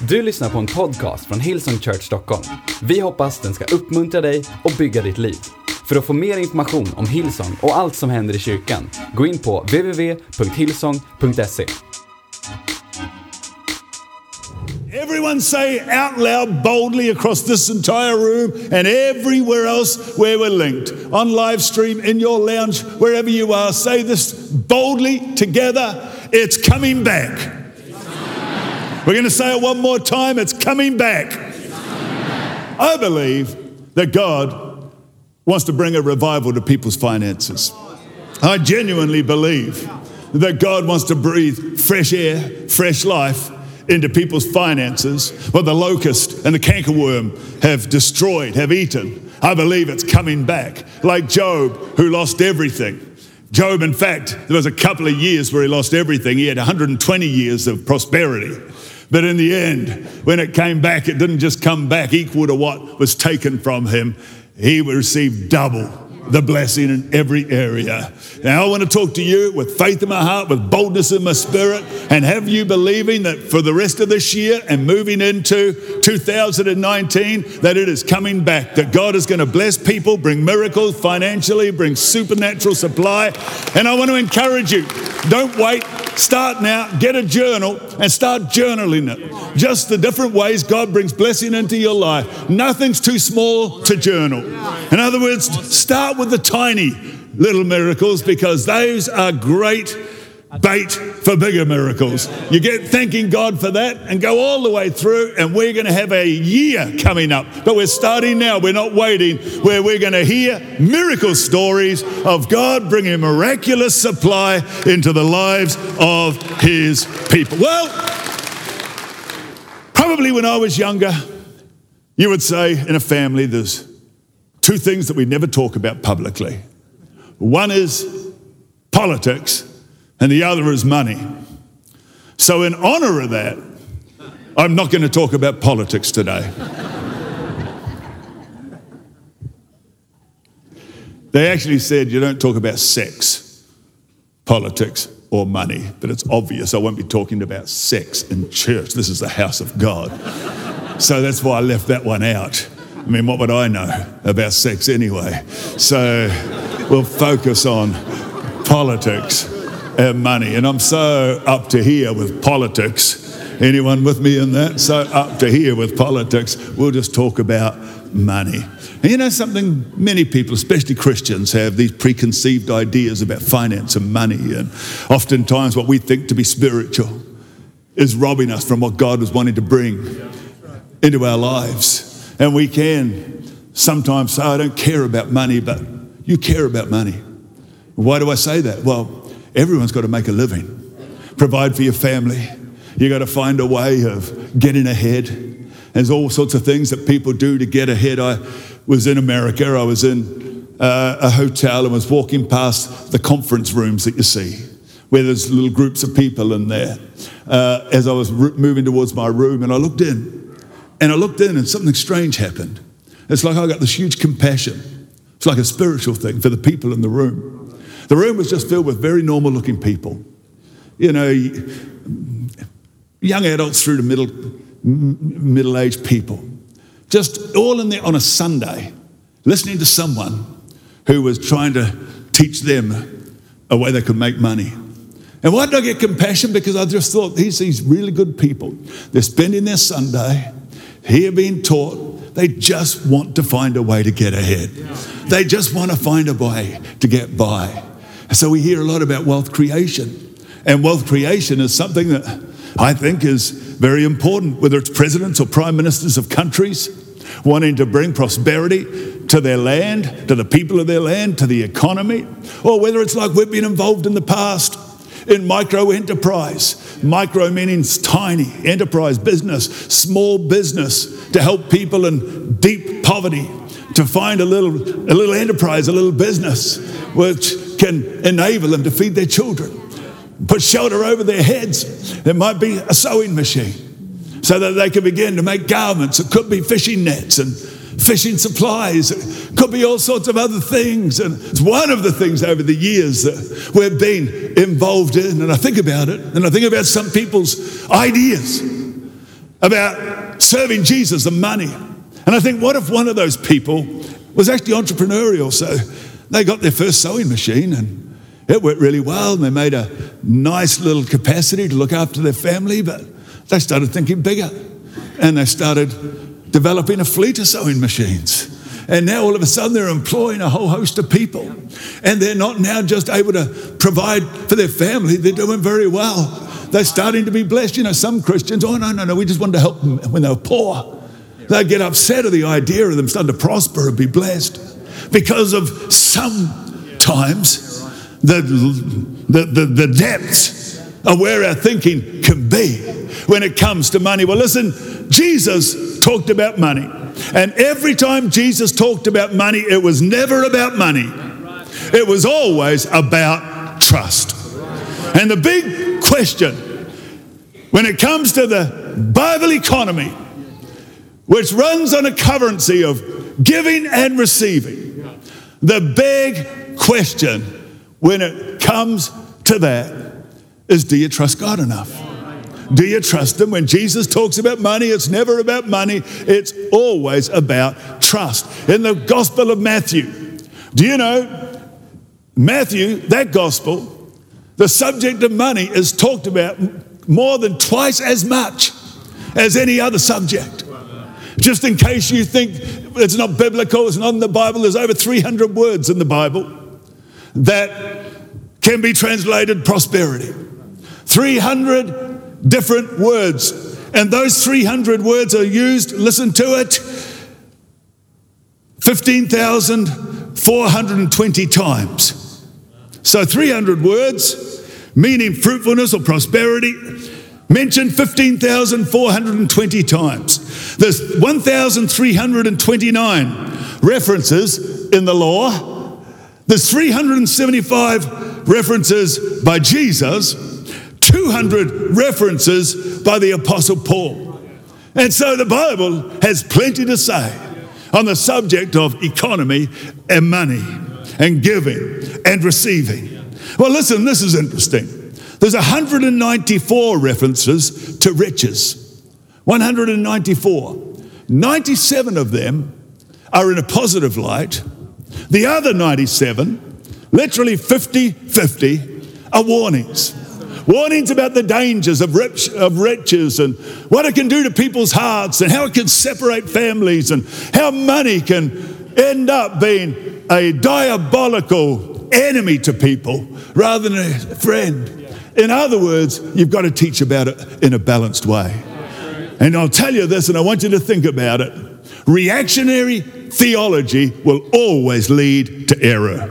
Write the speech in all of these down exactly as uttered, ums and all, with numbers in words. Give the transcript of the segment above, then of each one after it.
Du lyssnar på en podcast från Hillsong Church Stockholm. Vi hoppas den ska uppmuntra dig och bygga ditt liv. För att få mer information om Hillsong och allt som händer i kyrkan, gå in på w w w punkt hillsong punkt se. Everyone say out loud boldly across this entire room and everywhere else where we're linked. On live stream, in your lounge, wherever you are, say this boldly together. It's coming back. We're going to say it one more time. It's coming back. I believe that God wants to bring a revival to people's finances. I genuinely believe that God wants to breathe fresh air, fresh life into people's finances, what the locust and the cankerworm have destroyed, have eaten. I believe it's coming back. Like Job, who lost everything. Job, in fact, there was a couple of years where he lost everything. He had one hundred twenty years of prosperity. But in the end, when it came back, it didn't just come back equal to what was taken from him. He received double the blessing in every area. Now I want to talk to you with faith in my heart, with boldness in my spirit, and have you believing that for the rest of this year and moving into two thousand nineteen, that it is coming back, that God is going to bless people, bring miracles financially, bring supernatural supply. And I want to encourage you, don't wait, start now, get a journal and start journaling it. Just the different ways God brings blessing into your life. Nothing's too small to journal. In other words, start with the tiny little miracles, because those are great bait for bigger miracles. You get thanking God for that and go all the way through, and we're going to have a year coming up. But we're starting now. We're not waiting, where we're going to hear miracle stories of God bringing miraculous supply into the lives of his people. Well, probably when I was younger, you would say in a family there's two things that we never talk about publicly. One is politics, and the other is money. So in honor of that, I'm not going to talk about politics today. They actually said you don't talk about sex, politics, or money, but it's obvious I won't be talking about sex in church. This is the house of God. So that's why I left that one out. I mean, what would I know about sex anyway? So we'll focus on politics and money. And I'm so up to here with politics. Anyone with me in that? So up to here with politics. We'll just talk about money. And you know something? Many people, especially Christians, have these preconceived ideas about finance and money. And oftentimes what we think to be spiritual is robbing us from what God was wanting to bring into our lives. And we can sometimes say, I don't care about money, but you care about money. Why do I say that? Well, everyone's got to make a living, provide for your family. You got to find a way of getting ahead. There's all sorts of things that people do to get ahead. I was in America. I was in uh, a hotel and was walking past the conference rooms that you see, where there's little groups of people in there. Uh, as I was r- moving towards my room, and I looked in. And I looked in and something strange happened. It's like I got this huge compassion. It's like a spiritual thing for the people in the room. The room was just filled with very normal looking people. You know, young adults through to middle, middle-aged people. Just all in there on a Sunday, listening to someone who was trying to teach them a way they could make money. And why did I get compassion? Because I just thought, these these really good people. They're spending their Sunday here being taught. They just want to find a way to get ahead. They just want to find a way to get by. And so we hear a lot about wealth creation. And wealth creation is something that I think is very important, whether it's presidents or prime ministers of countries wanting to bring prosperity to their land, to the people of their land, to the economy, or whether it's like we've been involved in the past in micro enterprise. Micro meaning tiny enterprise business, small business, to help people in deep poverty to find a little, a little enterprise, a little business which can enable them to feed their children, put shelter over their heads. There might be a sewing machine so that they can begin to make garments. It could be fishing nets and fishing supplies. It could be all sorts of other things. And it's one of the things over the years that we've been involved in. And I think about it, and I think about some people's ideas about serving Jesus and money. And I think, what if one of those people was actually entrepreneurial? So they got their first sewing machine and it worked really well, and they made a nice little capacity to look after their family, but they started thinking bigger. And they started developing a fleet of sewing machines. And now all of a sudden they're employing a whole host of people. And they're not now just able to provide for their family, they're doing very well. They're starting to be blessed. You know, some Christians, oh no, no, no, we just wanted to help them when they were poor. They get upset at the idea of them starting to prosper and be blessed because of sometimes the, the, the, the depths of where our thinking can be when it comes to money. Well, listen, Jesus talked about money. And every time Jesus talked about money, it was never about money. It was always about trust. And the big question when it comes to the Bible economy, which runs on a currency of giving and receiving, the big question when it comes to that is, do you trust God enough? Do you trust Him? When Jesus talks about money, it's never about money. It's always about trust. In the Gospel of Matthew, do you know, Matthew, that Gospel, the subject of money is talked about more than twice as much as any other subject. Just in case you think it's not biblical, it's not in the Bible, there's over three hundred words in the Bible that can be translated prosperity. three hundred different words. And those three hundred words are used, listen to it, fifteen thousand four hundred twenty times. So three hundred words, meaning fruitfulness or prosperity, mentioned fifteen thousand four hundred twenty times. There's one thousand three hundred twenty-nine references in the law. There's three hundred seventy-five references by Jesus, two hundred references by the Apostle Paul. And so the Bible has plenty to say on the subject of economy and money and giving and receiving. Well, listen, this is interesting. There's one hundred ninety-four references to riches. one hundred ninety-four. ninety-seven of them are in a positive light. The other ninety-seven, literally fifty-fifty, are warnings. Warnings about the dangers of, rich, of riches and what it can do to people's hearts and how it can separate families and how money can end up being a diabolical enemy to people rather than a friend. In other words, you've got to teach about it in a balanced way. And I'll tell you this, and I want you to think about it. Reactionary theology will always lead to error.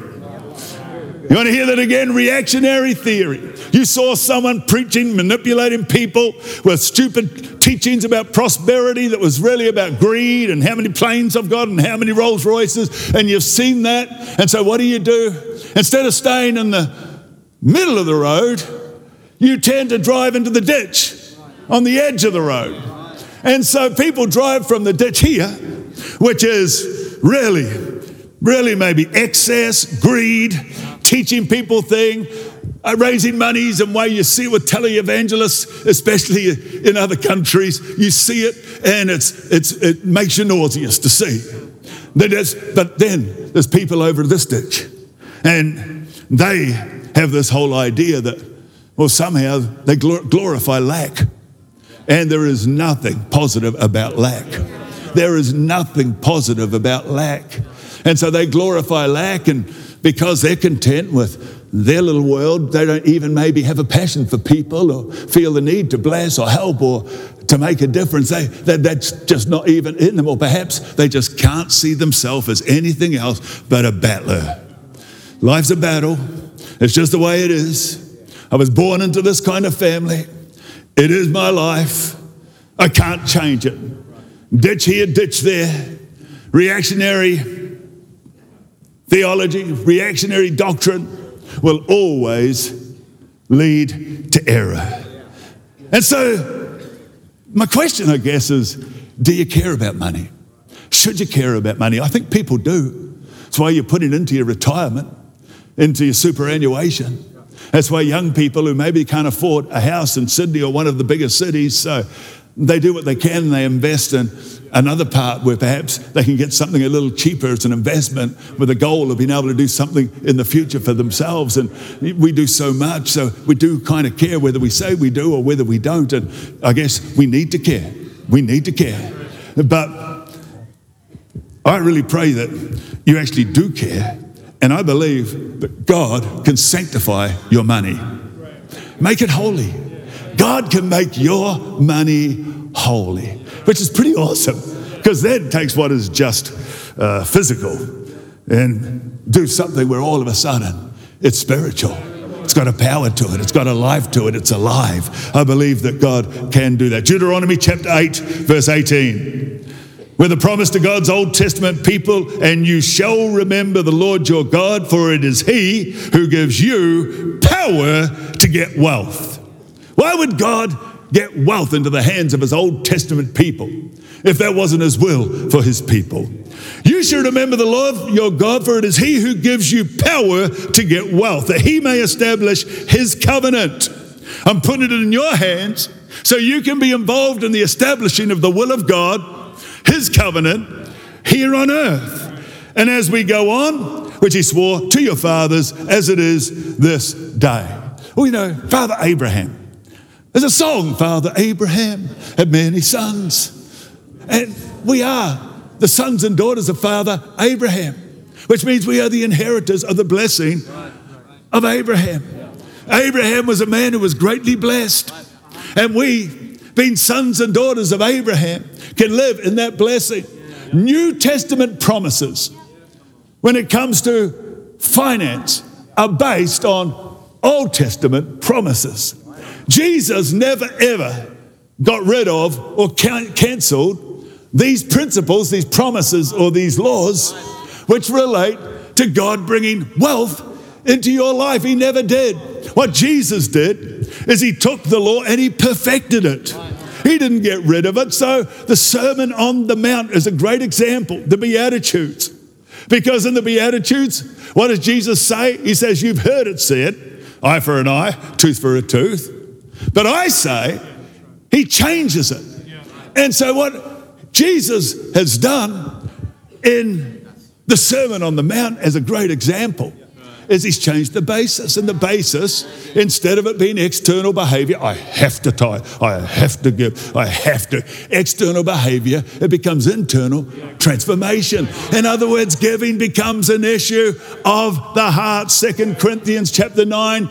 You want to hear that again? Reactionary theory. You saw someone preaching, manipulating people with stupid teachings about prosperity that was really about greed and how many planes I've got and how many Rolls Royces, and you've seen that. And so what do you do? Instead of staying in the middle of the road, you tend to drive into the ditch on the edge of the road. And so people drive from the ditch here, which is really, really maybe excess, greed, teaching people things, uh, raising monies, and way you see it with televangelists, especially in other countries, you see it, and it's it's it makes you nauseous to see. But then there's people over this ditch, and they have this whole idea that, well, somehow they glorify lack. And there is nothing positive about lack. There is nothing positive about lack. And so they glorify lack, and because they're content with their little world, they don't even maybe have a passion for people or feel the need to bless or help or to make a difference. They, that, that's just not even in them. Or perhaps they just can't see themselves as anything else but a battler. Life's a battle. It's just the way it is. I was born into this kind of family. It is my life. I can't change it. Ditch here, ditch there. Reactionary theology, reactionary doctrine will always lead to error. And so my question, I guess, is, do you care about money? Should you care about money? I think people do. That's why you put it into your retirement, into your superannuation. That's why young people who maybe can't afford a house in Sydney or one of the bigger cities, so They do what they can and they invest in another part where perhaps they can get something a little cheaper as an investment with a goal of being able to do something in the future for themselves. And we do so much, so we do kind of care whether we say we do or whether we don't. And I guess we need to care. We need to care. But I really pray that you actually do care. And I believe that God can sanctify your money. Make it holy. God can make your money holy, which is pretty awesome, because that takes what is just uh, physical and do something where all of a sudden it's spiritual. It's got a power to it. It's got a life to it. It's alive. I believe that God can do that. Deuteronomy chapter eight, verse eighteen. With a promise to God's Old Testament people, and you shall remember the Lord your God, for it is He who gives you power to get wealth. Why would God get wealth into the hands of His Old Testament people if that wasn't His will for His people? You should remember the Lord your God, for it is He who gives you power to get wealth, that He may establish His covenant. I'm putting it in your hands so you can be involved in the establishing of the will of God, His covenant, here on earth. And as we go on, which He swore to your fathers, as it is this day. Well, you know, Father Abraham. There's a song, Father Abraham had many sons. And we are the sons and daughters of Father Abraham, which means we are the inheritors of the blessing of Abraham. Abraham was a man who was greatly blessed. And we, being sons and daughters of Abraham, can live in that blessing. New Testament promises, when it comes to finance, are based on Old Testament promises. Jesus never ever got rid of or can- cancelled these principles, these promises, or these laws which relate to God bringing wealth into your life. He never did. What Jesus did is He took the law and He perfected it. He didn't get rid of it. So the Sermon on the Mount is a great example, the Beatitudes. Because in the Beatitudes, what does Jesus say? He says, you've heard it said, eye for an eye, tooth for a tooth. But I say, He changes it. And so what Jesus has done in the Sermon on the Mount as a great example is He's changed the basis. And the basis, instead of it being external behavior, I have to tithe, I have to give, I have to. External behavior, it becomes internal transformation. In other words, giving becomes an issue of the heart. Second Corinthians chapter nine.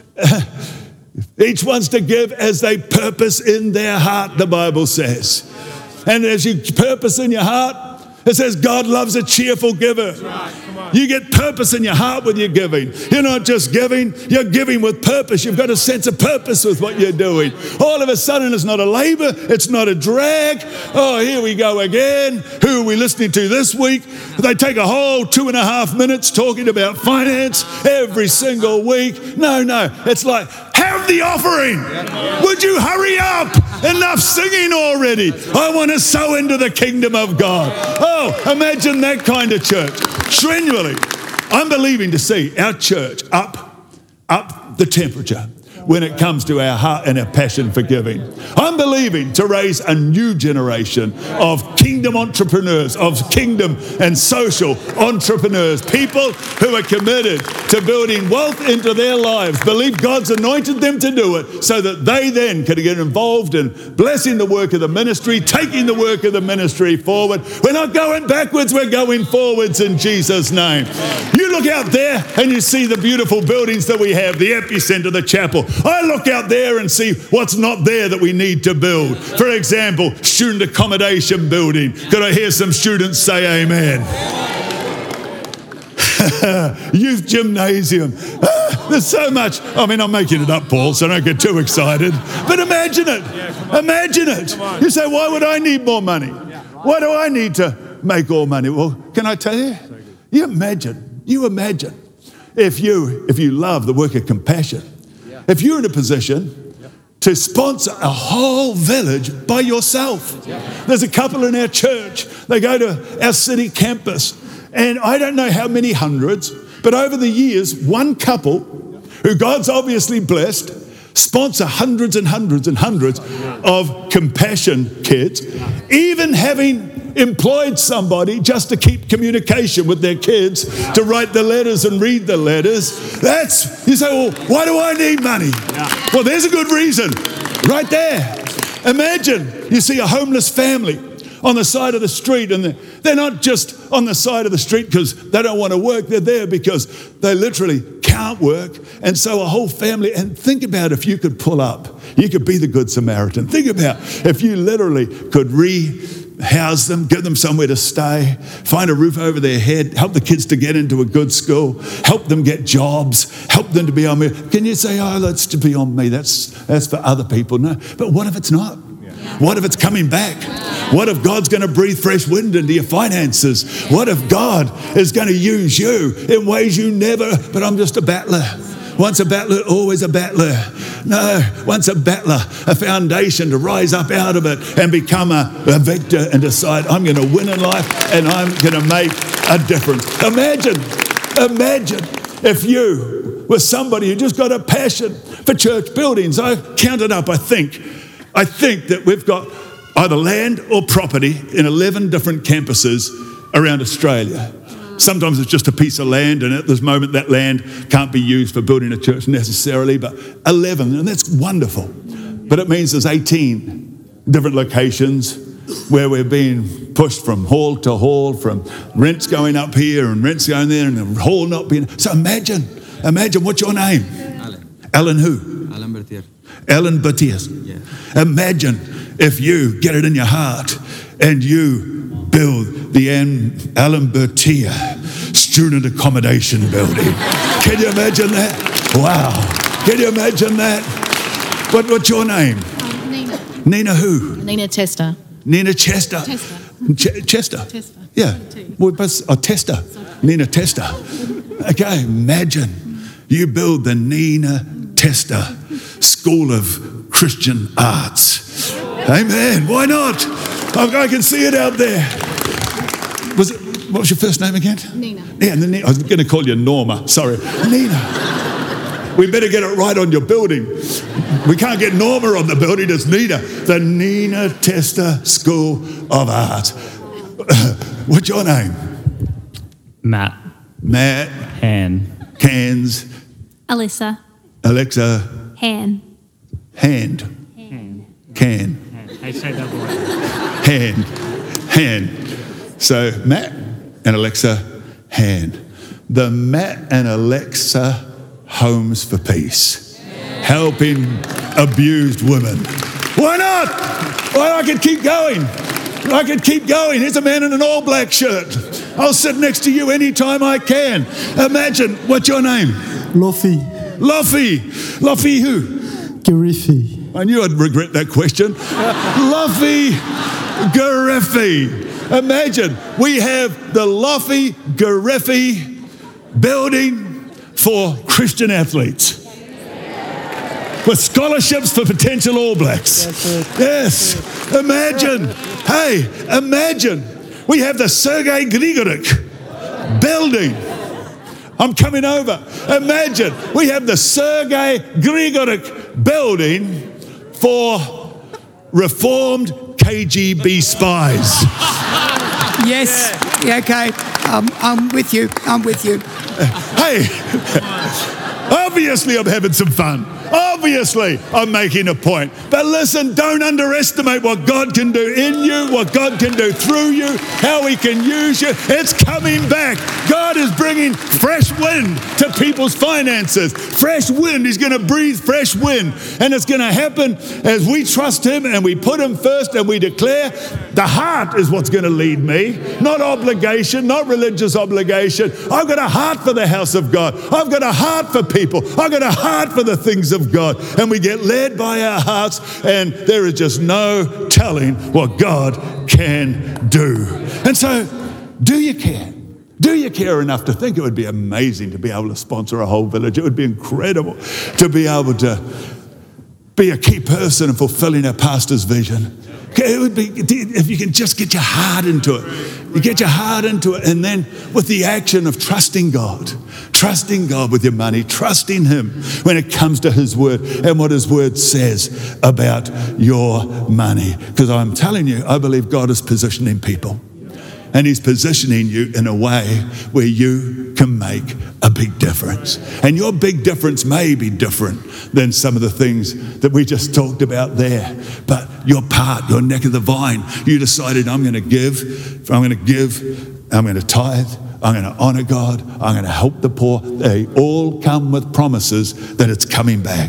Each one's to give as they purpose in their heart, the Bible says. And as you purpose in your heart, it says God loves a cheerful giver. You get purpose in your heart with your giving. You're not just giving, you're giving with purpose. You've got a sense of purpose with what you're doing. All of a sudden, it's not a labor, it's not a drag. Oh, here we go again. Who are we listening to this week? They take a whole two and a half minutes talking about finance every single week. No, no, it's like, have the offering. Would you hurry up? Enough singing already. I want to sow into the kingdom of God. Oh, imagine that kind of church. Strenually, I'm believing to see our church up, up the temperature when it comes to our heart and our passion for giving. I'm believing to raise a new generation of kingdom entrepreneurs, of kingdom and social entrepreneurs, people who are committed to building wealth into their lives, believe God's anointed them to do it so that they then can get involved in blessing the work of the ministry, taking the work of the ministry forward. We're not going backwards, we're going forwards in Jesus' name. You look out there and you see the beautiful buildings that we have, the epicenter, the chapel. I look out there and see what's not there that we need to build. For example, student accommodation building. Could I hear some students say amen? Youth gymnasium. Ah, there's so much. I mean, I'm making it up, Paul, so don't get too excited. But imagine it. Imagine it. You say, why would I need more money? Why do I need to make all money? Well, can I tell you? You imagine, you imagine if you, if you love the work of compassion, if you're in a position to sponsor a whole village by yourself. There's a couple in our church. They go to our city campus. And I don't know how many hundreds, but over the years, one couple who God's obviously blessed sponsor hundreds and hundreds and hundreds of compassion kids, even having employed somebody just to keep communication with their kids, to write the letters and read the letters. That's, you say, well, why do I need money? Well, there's a good reason right there. Imagine you see a homeless family on the side of the street, and they're, they're not just on the side of the street because they don't want to work. They're there because they literally can't work. And so a whole family, and think about if you could pull up, you could be the Good Samaritan. Think about if you literally could re-house them, give them somewhere to stay, find a roof over their head, help the kids to get into a good school, help them get jobs, help them to be on me. Can you say, oh, that's to be on me, that's, that's for other people? No, but what if it's not? What if it's coming back? What if God's going to breathe fresh wind into your finances? What if God is going to use you in ways you never, but I'm just a battler. Once a battler, always a battler. No, once a battler, a foundation to rise up out of it and become a, a victor and decide I'm going to win in life and I'm going to make a difference. Imagine, imagine if you were somebody who just got a passion for church buildings. I counted up, I think, I think that we've got either land or property in eleven different campuses around Australia. Sometimes it's just a piece of land, and at this moment that land can't be used for building a church necessarily, but eleven, and that's wonderful. But it means there's eighteen different locations where we're being pushed from hall to hall, from rents going up here and rents going there, and the hall not being... So imagine, imagine, what's your name? Alan. Alan who? Alan Bertier. Alan Bertier. Yeah. Imagine if you get it in your heart and you build the Alan Bertier student accommodation building. Can you imagine that? Wow. Can you imagine that? What, what's your name? Um, Nina. Nina who? Nina Tester. Nina Chester. Tester. Ch- Chester. Tester. Yeah. Well, but, oh, Tester. Nina Tester. Okay, imagine you build the Nina Tester School of Christian Arts. Amen. Why not? I, I can see it out there. Was it? What was your first name again? Nina. Yeah, and then I was going to call you Norma. Sorry, Nina. We better get it right on your building. We can't get Norma on the building. It's Nina. The Nina Tester School of Art. What's your name? Matt. Matt. Han. Cans. Alyssa. Alexa. Han. Hand. Han. Can. I say that word. Hand. Hand. So Matt and Alexa, hand. The Matt and Alexa Homes for Peace. Helping abused women. Why not? Well, I could keep going. I could keep going. Here's a man in an all black shirt. I'll sit next to you anytime I can. Imagine, what's your name? Lofi. Luffy. Luffy who? Gariffi. I knew I'd regret that question. Luffy Gariffi. Imagine we have the Luffy Gariffi building for Christian athletes with scholarships for potential All Blacks. Yes. Imagine. Hey, imagine we have the Sergei Grigorik building. I'm coming over. Imagine we have the Sergei Grigorik building for reformed K G B spies. Yes. Yeah, okay. Um, I'm with you. I'm with you. Hey, obviously I'm having some fun. Obviously I'm making a point. But listen, don't underestimate what God can do in you, what God can do through you, how he can use you. It's coming back. God is bringing fresh wind to people's finances. Fresh wind. He's going to breathe fresh wind. And it's going to happen as we trust him and we put him first and we declare the heart is what's going to lead me. Not obligation, not religious obligation. I've got a heart for the house of God. I've got a heart for people. I've got a heart for the things of God. And we get led by our hearts, and there is just no telling what God can do. And so, do you care? Do you care enough to think it would be amazing to be able to sponsor a whole village? It would be incredible to be able to be a key person in fulfilling our pastor's vision. It would be, if you can just get your heart into it. You get your heart into it, and then with the action of trusting God, trusting God with your money, trusting Him when it comes to His word and what His word says about your money. Because I'm telling you, I believe God is positioning people. And He's positioning you in a way where you can make a big difference. And your big difference may be different than some of the things that we just talked about there. But your part, your neck of the vine, you decided, I'm going to give, I'm going to give, I'm going to tithe, I'm going to honor God, I'm going to help the poor. They all come with promises that it's coming back.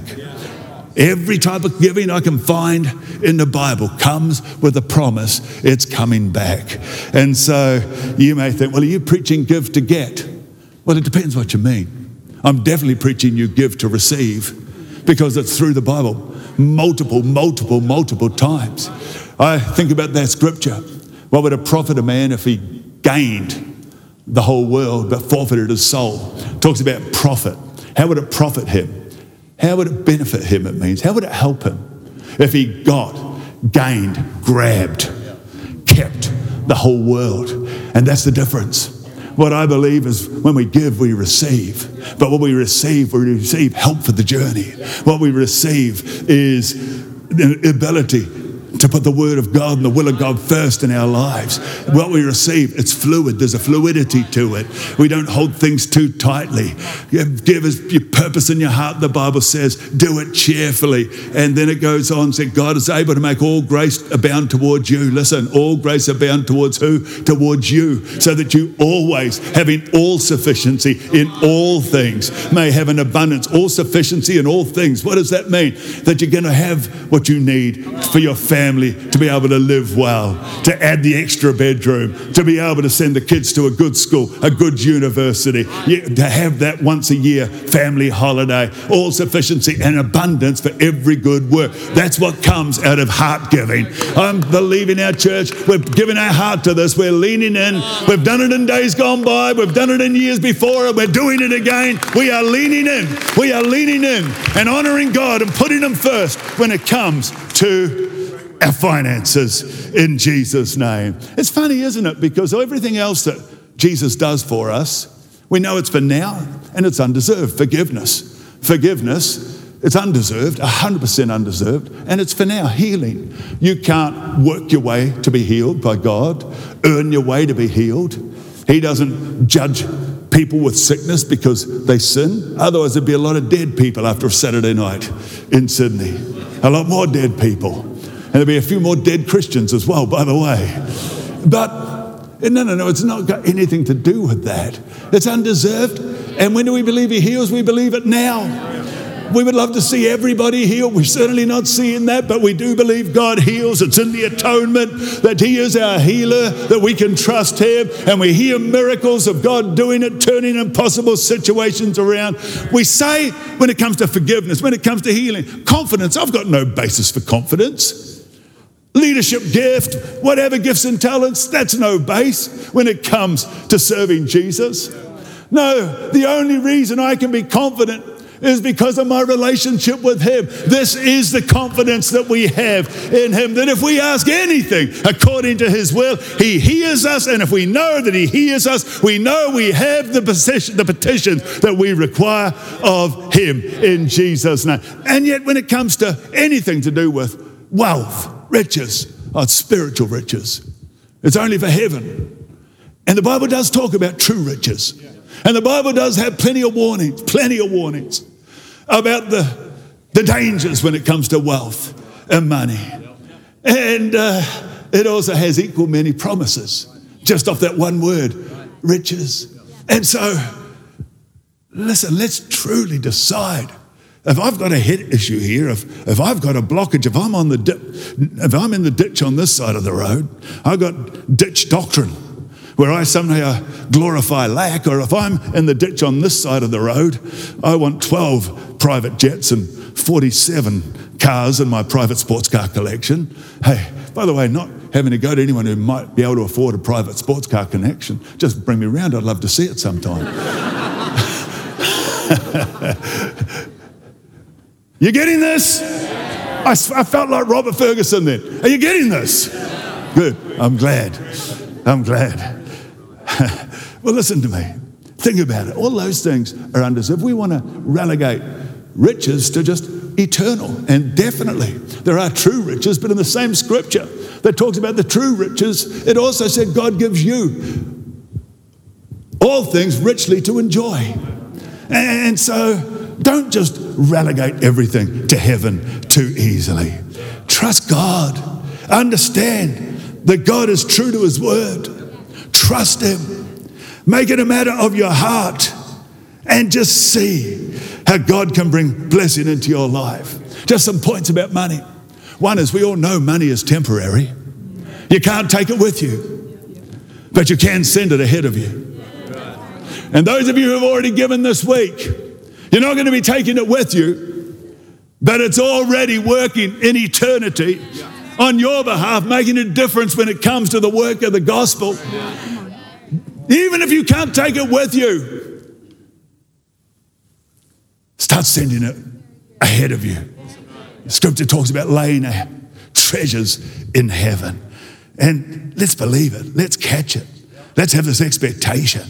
Every type of giving I can find in the Bible comes with a promise it's coming back. And so you may think, well, are you preaching give to get? Well, it depends what you mean. I'm definitely preaching you give to receive, because it's through the Bible multiple, multiple, multiple times. I think about that scripture. What would it profit a man if he gained the whole world but forfeited his soul? It talks about profit. How would it profit him? How would it benefit him, it means? How would it help him if he got, gained, grabbed, kept the whole world? And that's the difference. What I believe is when we give, we receive. But what we receive, we receive help for the journey. What we receive is the ability to put the word of God and the will of God first in our lives. What we receive, it's fluid. There's a fluidity to it. We don't hold things too tightly. Give us your purpose in your heart, the Bible says. Do it cheerfully. And then it goes on, say, God is able to make all grace abound towards you. Listen, all grace abound towards who? Towards you. So that you always, having all sufficiency in all things, may have an abundance, all sufficiency in all things. What does that mean? That you're going to have what you need for your family. To be able to live well, to add the extra bedroom, to be able to send the kids to a good school, a good university, to have that once a year family holiday, all sufficiency and abundance for every good work. That's what comes out of heart giving. I'm believing our church, we're giving our heart to this, we're leaning in, we've done it in days gone by, we've done it in years before, and we're doing it again. We are leaning in, we are leaning in and honoring God and putting Him first when it comes to our finances in Jesus' name. It's funny, isn't it? Because everything else that Jesus does for us, we know it's for now and it's undeserved. Forgiveness. Forgiveness, it's undeserved, one hundred percent undeserved, and it's for now. Healing. You can't work your way to be healed by God, earn your way to be healed. He doesn't judge people with sickness because they sin. Otherwise, there'd be a lot of dead people after a Saturday night in Sydney. A lot more dead people. And there'll be a few more dead Christians as well, by the way. But no, no, no, it's not got anything to do with that. It's undeserved. And when do we believe He heals? We believe it now. We would love to see everybody healed. We're certainly not seeing that, but we do believe God heals. It's in the atonement that He is our healer, that we can trust Him, and we hear miracles of God doing it, turning impossible situations around. We say when it comes to forgiveness, when it comes to healing, confidence, I've got no basis for confidence. Leadership gift, whatever gifts and talents, that's no base when it comes to serving Jesus. No, the only reason I can be confident is because of my relationship with Him. This is the confidence that we have in Him, that if we ask anything according to His will, He hears us, and if we know that He hears us, we know we have the petition, the petition that we require of Him in Jesus' name. And yet when it comes to anything to do with wealth, riches, oh, it's spiritual riches. It's only for heaven. And the Bible does talk about true riches. And the Bible does have plenty of warnings, plenty of warnings about the, the dangers when it comes to wealth and money. And uh, it also has equal many promises, just off that one word, riches. And so, listen, let's truly decide. If I've got a head issue here, if, if I've got a blockage, if I'm on the di- if I'm in the ditch on this side of the road, I've got ditch doctrine, where I somehow glorify lack, or if I'm in the ditch on this side of the road, I want twelve private jets and forty-seven cars in my private sports car collection. Hey, by the way, not having to go to anyone who might be able to afford a private sports car connection, just bring me around. I'd love to see it sometime. You getting this? I, I felt like Robert Ferguson then. Are you getting this? Good. I'm glad. I'm glad. Well, listen to me. Think about it. All those things are under us. If we want to relegate riches to just eternal, and definitely there are true riches, but in the same scripture that talks about the true riches, it also said God gives you all things richly to enjoy. And so don't just relegate everything to heaven too easily. Trust God. Understand that God is true to his word. Trust him. Make it a matter of your heart and just see how God can bring blessing into your life. Just some points about money. One is, we all know money is temporary. You can't take it with you, but you can send it ahead of you. And those of you who have already given this week, you're not going to be taking it with you, but it's already working in eternity on your behalf, making a difference when it comes to the work of the gospel. Even if you can't take it with you, start sending it ahead of you. Scripture talks about laying treasures in heaven. And let's believe it. Let's catch it. Let's have this expectation.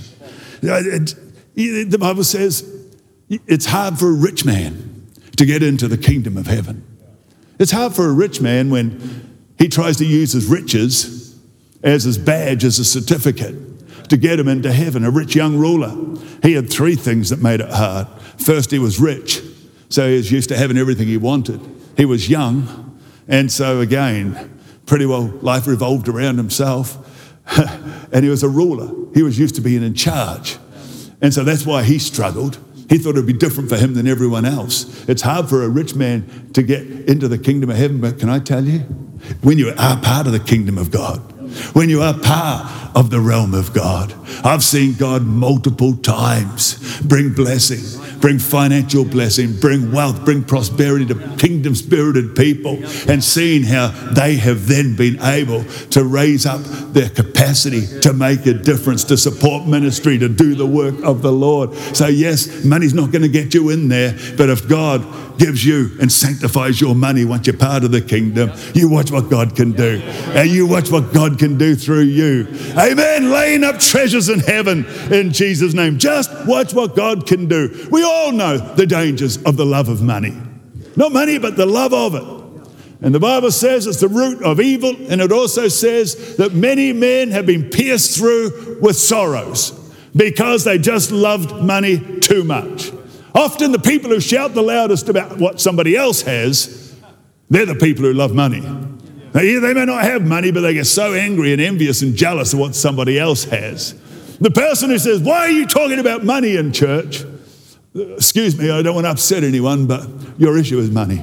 The Bible says it's hard for a rich man to get into the kingdom of heaven. It's hard for a rich man when he tries to use his riches as his badge, as a certificate, to get him into heaven. A rich young ruler, he had three things that made it hard. First, he was rich, so he was used to having everything he wanted. He was young, and so again, pretty well life revolved around himself. And he was a ruler. He was used to being in charge. And so that's why he struggled. He thought it would be different for him than everyone else. It's hard for a rich man to get into the kingdom of heaven, but can I tell you, when you are part of the kingdom of God, when you are part of the realm of God, I've seen God multiple times bring blessing, bring financial blessing, bring wealth, bring prosperity to kingdom-spirited people, and seeing how they have then been able to raise up their capacity to make a difference, to support ministry, to do the work of the Lord. So yes, money's not going to get you in there, but if God gives you and sanctifies your money once you're part of the kingdom, you watch what God can do. And you watch what God can do through you. Amen. Laying up treasures in heaven in Jesus' name. Just watch what God can do. We all know the dangers of the love of money. Not money, but the love of it. And the Bible says it's the root of evil, and it also says that many men have been pierced through with sorrows because they just loved money too much. Often the people who shout the loudest about what somebody else has, they're the people who love money. Now, yeah, they may not have money, but they get so angry and envious and jealous of what somebody else has. The person who says, why are you talking about money in church? Excuse me, I don't want to upset anyone, but your issue is money.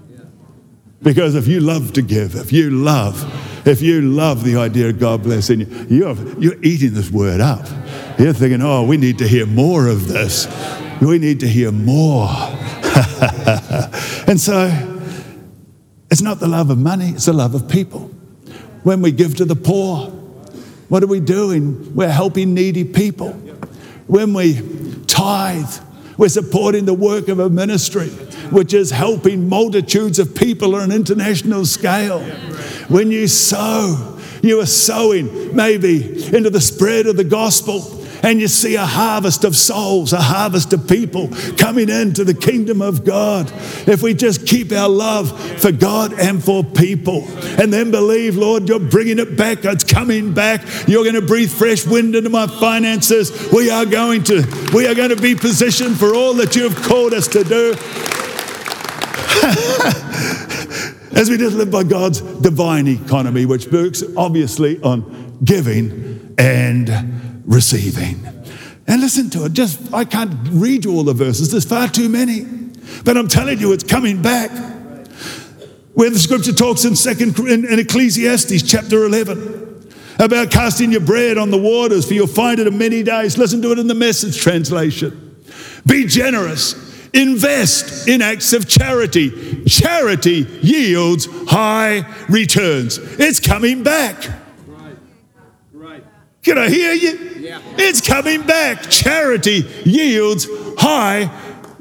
Because if you love to give, if you love, if you love the idea of God blessing you, you're, you're eating this word up. You're thinking, oh, we need to hear more of this. We need to hear more. And so, it's not the love of money, it's the love of people. When we give to the poor, what are we doing? We're helping needy people. When we tithe, we're supporting the work of a ministry, which is helping multitudes of people on an international scale. When you sow, you are sowing maybe into the spread of the gospel, and you see a harvest of souls, a harvest of people coming into the kingdom of God. If we just keep our love for God and for people, and then believe, Lord, you're bringing it back, it's coming back, you're going to breathe fresh wind into my finances, we are going to, we are going to be positioned for all that you have called us to do. As we just live by God's divine economy, which works obviously on giving and receiving. And listen to it. Just, I can't read you all the verses. There's far too many. But I'm telling you, it's coming back. Where the scripture talks in second in, in Ecclesiastes chapter eleven about casting your bread on the waters, for you'll find it in many days. Listen to it in the Message translation. Be generous. Invest in acts of charity. Charity yields high returns. It's coming back. Right. Right. Can I hear you? Yeah. It's coming back. Charity yields high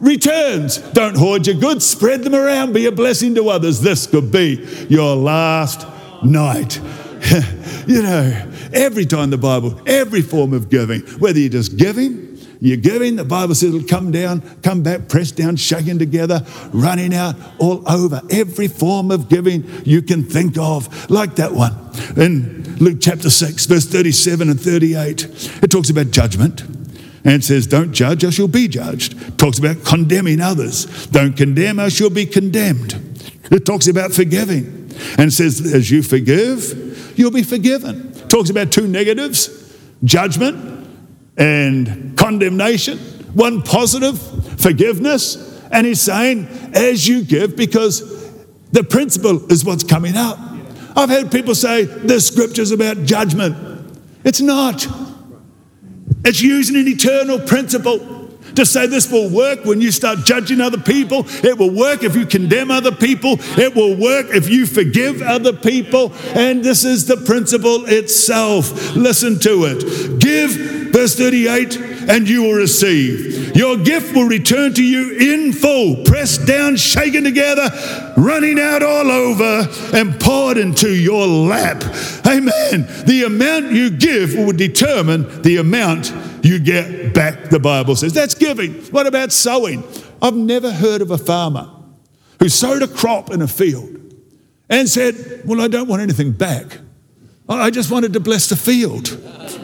returns. Don't hoard your goods, spread them around, be a blessing to others. This could be your last night. You know, every time the Bible, every form of giving, whether you're just giving, you're giving, the Bible says it'll come down, come back, pressed down, shaken together, running out all over. Every form of giving you can think of, like that one. In Luke chapter six, verse thirty-seven and thirty-eight, it talks about judgment. And it says, don't judge, or you'll be judged. It talks about condemning others. Don't condemn, or you'll be condemned. It talks about forgiving. And it says, as you forgive, you'll be forgiven. It talks about two negatives, judgment and condemnation. One positive, forgiveness. And he's saying, as you give, because the principle is what's coming up. I've heard people say, this scripture's about judgment. It's not. It's using an eternal principle to say this will work when you start judging other people. It will work if you condemn other people. It will work if you forgive other people. And this is the principle itself. Listen to it. Give, verse thirty-eight, and you will receive. Your gift will return to you in full, pressed down, shaken together, running out all over, and poured into your lap. Amen. The amount you give will determine the amount you get back, the Bible says. That's giving. What about sowing? I've never heard of a farmer who sowed a crop in a field and said, well, I don't want anything back. I just wanted to bless the field.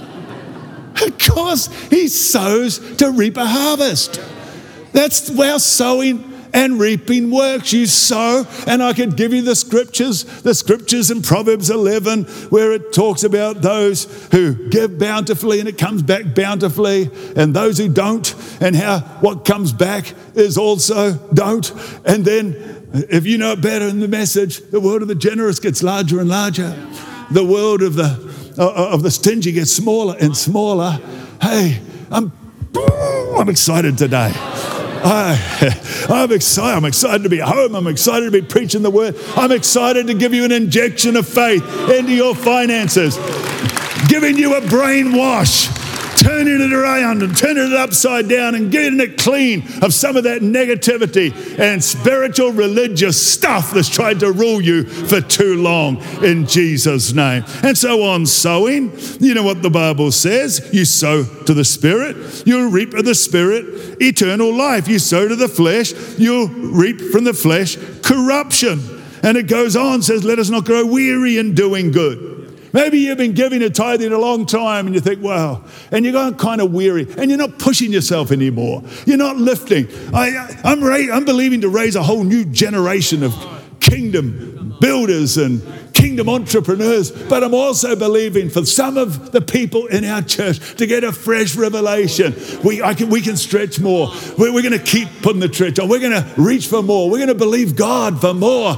Because he sows to reap a harvest. That's how sowing and reaping works. You sow, and I can give you the scriptures, the scriptures in Proverbs eleven, where it talks about those who give bountifully and it comes back bountifully, and those who don't, and how what comes back is also don't. And then, if you know it better in the Message, the world of the generous gets larger and larger. The world of the of the stingy gets smaller and smaller. Hey, I'm I'm excited today. I, I'm excited. I'm excited to be home. I'm excited to be preaching the word. I'm excited to give you an injection of faith into your finances, giving you a brainwash, turning it around and turning it upside down and getting it clean of some of that negativity and spiritual religious stuff that's tried to rule you for too long, in Jesus' name. And so on sowing, you know what the Bible says. You sow to the Spirit, you'll reap of the Spirit eternal life. You sow to the flesh, you'll reap from the flesh corruption. And it goes on, says, let us not grow weary in doing good. Maybe you've been giving a tithing a long time and you think, wow, and you're going kind of weary and you're not pushing yourself anymore. You're not lifting. I, I'm, ra- I'm believing to raise a whole new generation of kingdom builders and kingdom entrepreneurs, but I'm also believing for some of the people in our church to get a fresh revelation. We, I can, we can stretch more. We're, we're going to keep putting the stretch on. We're going to reach for more. We're going to believe God for more.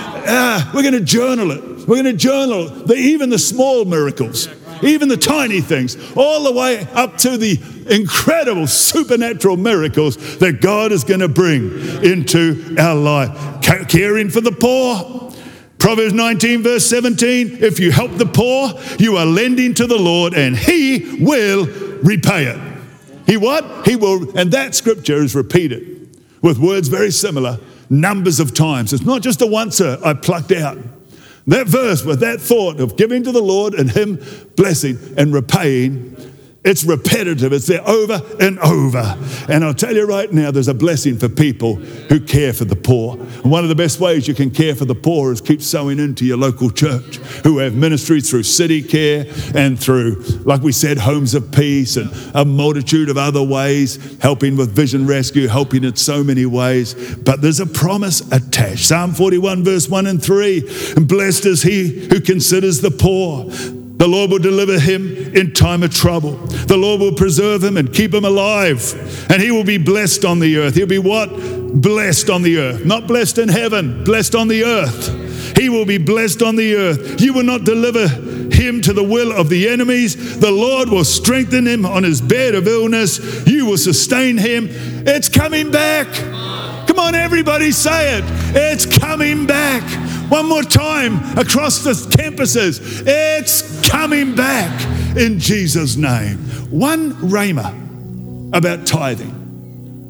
Uh, we're going to journal it. We're going to journal the, even the small miracles, even the tiny things, all the way up to the incredible supernatural miracles that God is going to bring into our life. Caring for the poor. Proverbs nineteen verse seventeen, if you help the poor, you are lending to the Lord and He will repay it. He what? He will, and that scripture is repeated with words very similar numbers of times. It's not just a once-er I plucked out. That verse with that thought of giving to the Lord and Him blessing and repaying, it's repetitive. It's there over and over. And I'll tell you right now, there's a blessing for people who care for the poor. And one of the best ways you can care for the poor is keep sowing into your local church, who have ministries through City Care and through, like we said, Homes of Peace and a multitude of other ways, helping with Vision Rescue, helping in so many ways. But there's a promise attached. Psalm forty-one verse one and three, and blessed is he who considers the poor. The Lord will deliver him in time of trouble. The Lord will preserve him and keep him alive. And he will be blessed on the earth. He'll be what? Blessed on the earth. Not blessed in heaven, blessed on the earth. He will be blessed on the earth. You will not deliver him to the will of the enemies. The Lord will strengthen him on his bed of illness. You will sustain him. It's coming back. Come on, everybody say it. It's coming back. One more time across the campuses. It's coming back in Jesus' name. One rhema about tithing.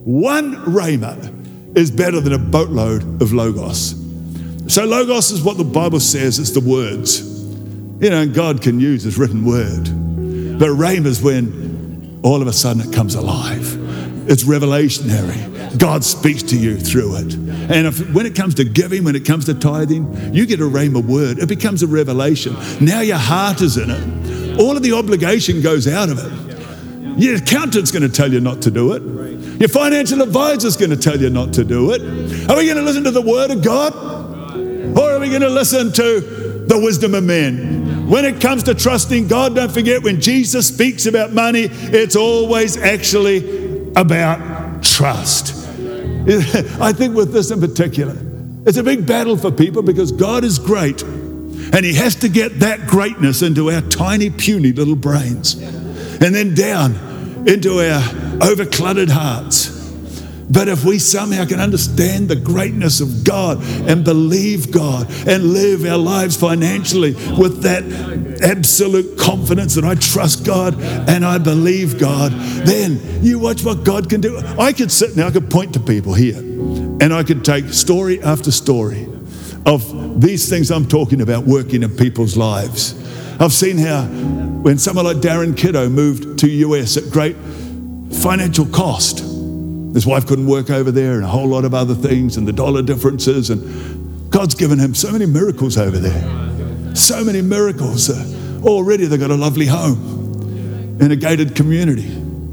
one rhema is better than a boatload of logos. So logos is what the Bible says, it's the words. You know, and God can use his written word. But rhema is when all of a sudden it comes alive. It's revelationary. God speaks to you through it. And if, when it comes to giving, when it comes to tithing, you get a rhema word. It becomes a revelation. Now your heart is in it. All of the obligation goes out of it. Your accountant's going to tell you not to do it. Your financial advisor's going to tell you not to do it. Are we going to listen to the word of God? Or are we going to listen to the wisdom of men? When it comes to trusting God, don't forget when Jesus speaks about money, it's always actually about trust. I think with this in particular, it's a big battle for people because God is great and he has to get that greatness into our tiny, puny little brains and then down into our overcluttered hearts. But if we somehow can understand the greatness of God and believe God and live our lives financially with that absolute confidence that I trust God and I believe God, then you watch what God can do. I could sit now, I could point to people here and I could take story after story of these things I'm talking about working in people's lives. I've seen how when someone like Darren Kiddo moved to U S at great financial cost, his wife couldn't work over there and a whole lot of other things and the dollar differences, and God's given him so many miracles over there. So many miracles. Uh, already they've got a lovely home in a gated community.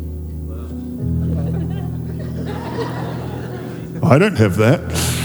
I don't have that.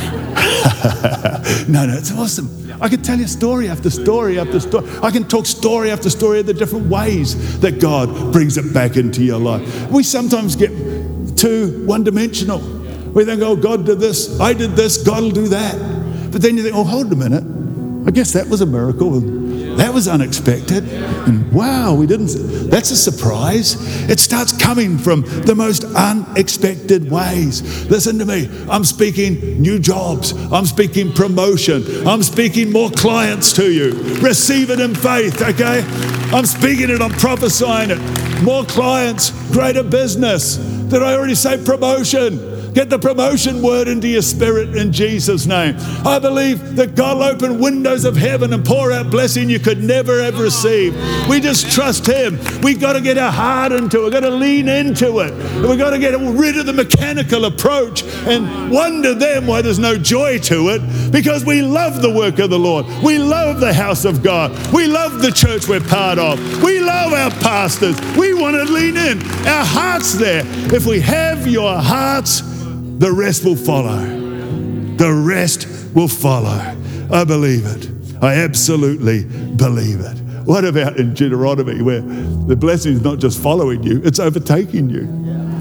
No, no, it's awesome. I could tell you story after story after story. I can talk story after story of the different ways that God brings it back into your life. We sometimes get too one-dimensional. We think, oh, God did this, I did this, God will do that. But then you think, oh, hold a minute. I guess that was a miracle. That was unexpected. And wow, we didn't, that's a surprise. It starts coming from the most unexpected ways. Listen to me. I'm speaking new jobs. I'm speaking promotion. I'm speaking more clients to you. Receive it in faith, okay? I'm speaking it, I'm prophesying it. More clients, greater business. Did I already say promotion? Get the promotion word into your spirit in Jesus' name. I believe that God will open windows of heaven and pour out blessing you could never have received. We just trust him. We've got to get our heart into it. We've got to lean into it. We've got to get rid of the mechanical approach and wonder then why there's no joy to it, because we love the work of the Lord. We love the house of God. We love the church we're part of. We love our pastors. We want to lean in. Our heart's there. If we have your hearts, the rest will follow. The rest will follow. I believe it. I absolutely believe it. What about in Deuteronomy where the blessing is not just following you, it's overtaking you?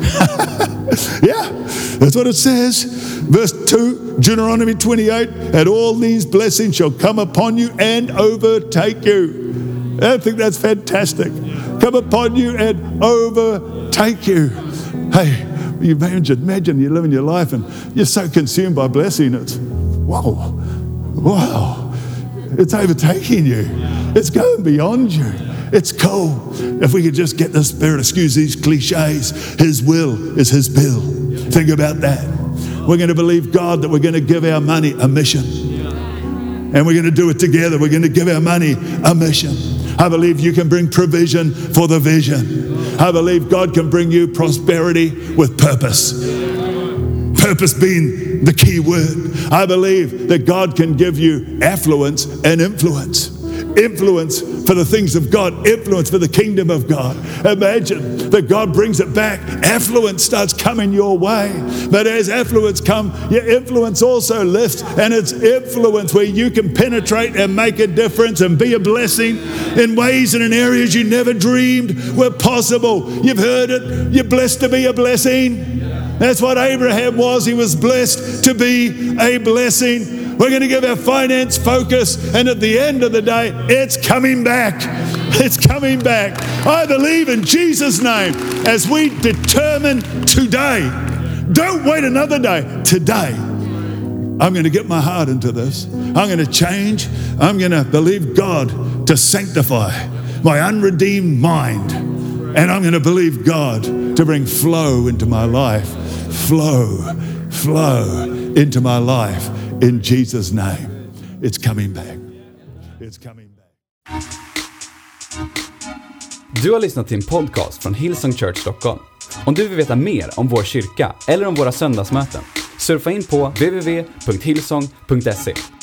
Yeah, that's what it says. Verse two, Deuteronomy twenty-eight, and all these blessings shall come upon you and overtake you. I think that's fantastic. Come upon you and overtake you. Hey, you imagine, imagine you're living your life and you're so consumed by blessing. It's, wow, wow. It's overtaking you. It's going beyond you. It's cool. If we could just get the Spirit, excuse these cliches, his will is his bill. Think about that. We're going to believe God that we're going to give our money a mission. And we're going to do it together. We're going to give our money a mission. I believe you can bring provision for the vision. I believe God can bring you prosperity with purpose. Purpose being the key word. I believe that God can give you affluence and influence. Influence for the things of God, influence for the kingdom of God. Imagine that God brings it back. Affluence starts coming your way. But as affluence comes, your influence also lifts, and it's influence where you can penetrate and make a difference and be a blessing in ways and in areas you never dreamed were possible. You've heard it. You're blessed to be a blessing. That's what Abraham was. He was blessed to be a blessing. We're going to give our finance focus, and at the end of the day, it's coming back. It's coming back. I believe in Jesus' name as we determine today. Don't wait another day. Today, I'm going to get my heart into this. I'm going to change. I'm going to believe God to sanctify my unredeemed mind. And I'm going to believe God to bring flow into my life. flow, flow into my life in Jesus' name. It's coming back. It's coming back. Du har lyssnat till en podcast från Hillsong Church Stockholm. Om du vill veta mer om vår kyrka eller om våra söndagsmöten, surfa in på w w w punkt hillsong punkt se.